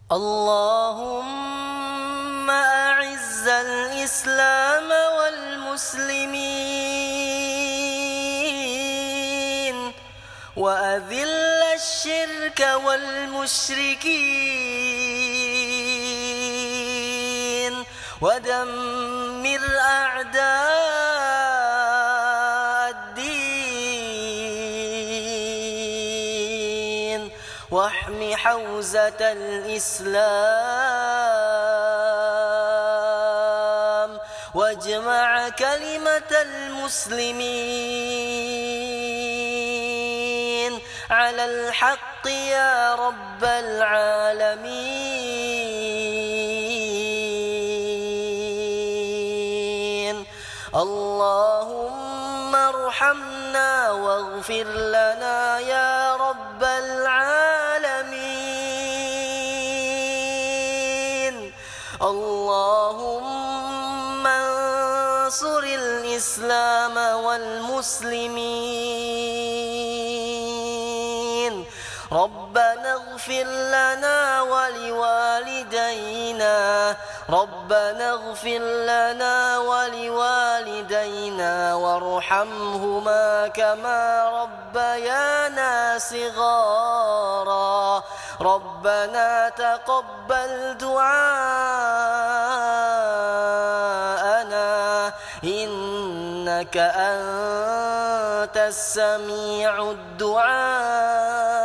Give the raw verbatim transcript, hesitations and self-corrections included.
اللهم أعز الإسلام والمسلمين وأذل الشرك والمشركين ودمر أعداء الدين واحم حوزة الإسلام واجمع كلمة المسلمين على الحق يا رب العالمين. اللهم ارحمنا واغفر لنا يا رب العالمين. اللهم انصر الإسلام والمسلمين. ربنا اغفر لنا ولوالدينا ربنا اغفر لنا ولوالدينا وارحمهما كما ربيانا صغارا. ربنا تقبل دعاءنا إنك أنت السميع الدعاء.